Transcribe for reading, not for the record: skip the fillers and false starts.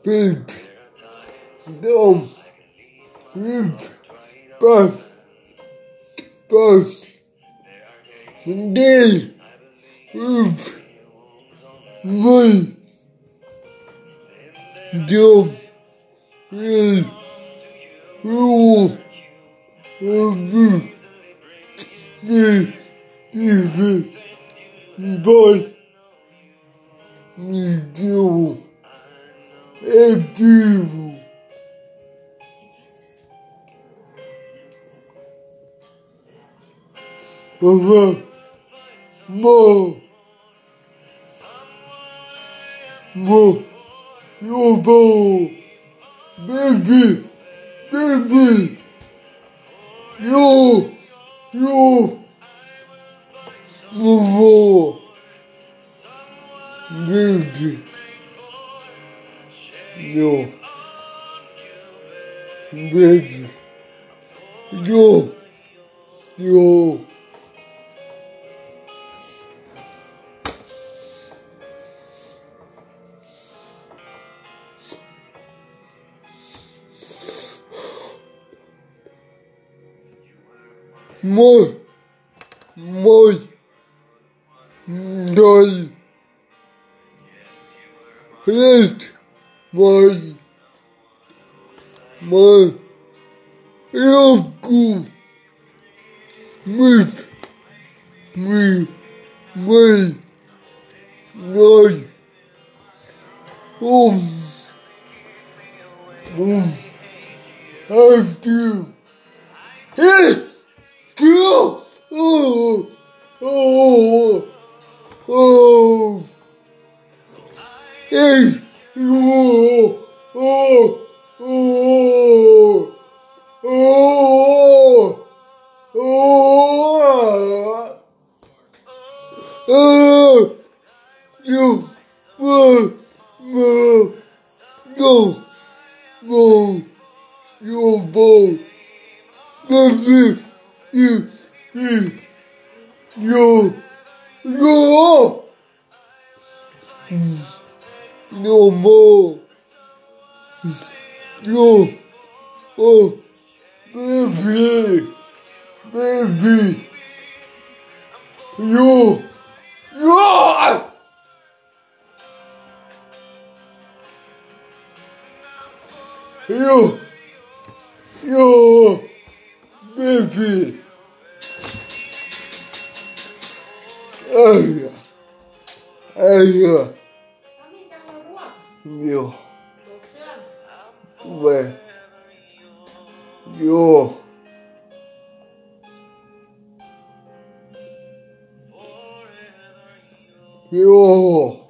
feet, dumb, hip, back, day, hip, way, dumb, head, roll, review, me, defense, boy, me, do, active. More, your ball, baby, yo, more, baby, yo, baby, yo. Moi, dai, red, yoku, mit, me, nai, have to, hey, go, hey, you, no, your ball, baby, you, no more, you, baby, you, baby, ay, yo, về, yo.